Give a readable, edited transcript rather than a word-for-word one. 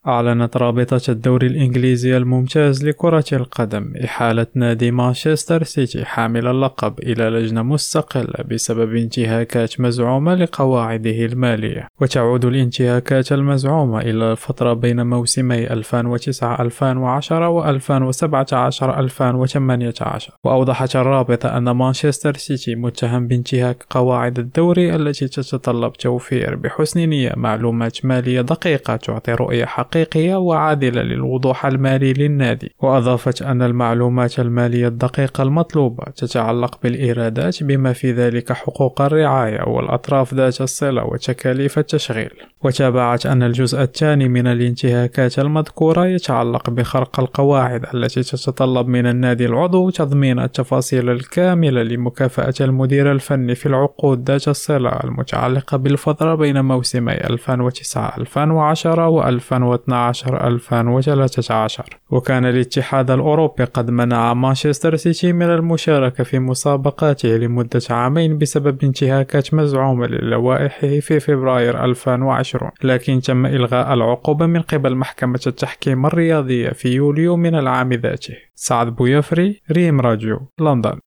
أعلنت رابطة الدوري الإنجليزي الممتاز لكرة القدم إحالة نادي مانشستر سيتي حامل اللقب إلى لجنة مستقلة بسبب انتهاكات مزعومة لقواعده المالية، وتعود الانتهاكات المزعومة إلى الفترة بين موسمي 2009-2010 و2017-2018. وأوضحت الرابطة أن مانشستر سيتي متهم بانتهاك قواعد الدوري التي تتطلب توفير بحسن نية معلومات مالية دقيقة تعطي رؤية حقيقية وعادلة للوضوح المالي للنادي. وأضافت أن المعلومات المالية الدقيقة المطلوبة تتعلق بالإيرادات بما في ذلك حقوق الرعاية والأطراف ذات الصلة وتكاليف التشغيل. وتابعت أن الجزء الثاني من الانتهاكات المذكورة يتعلق بخرق القواعد التي تتطلب من النادي العضو تضمين التفاصيل الكاملة لمكافأة المدير الفني في العقود ذات الصلة المتعلقة بالفترة بين موسمي 2009-2010 و2012-2013. وكان الاتحاد الأوروبي قد منع مانشستر سيتي من المشاركة في مسابقاته لمدة عامين بسبب انتهاكات مزعومة للوائحه في فبراير 2020، لكن تم إلغاء العقوبة من قبل محكمة التحكيم الرياضية في يوليو من العام ذاته. سعد بويفري، ريم راديو، لندن.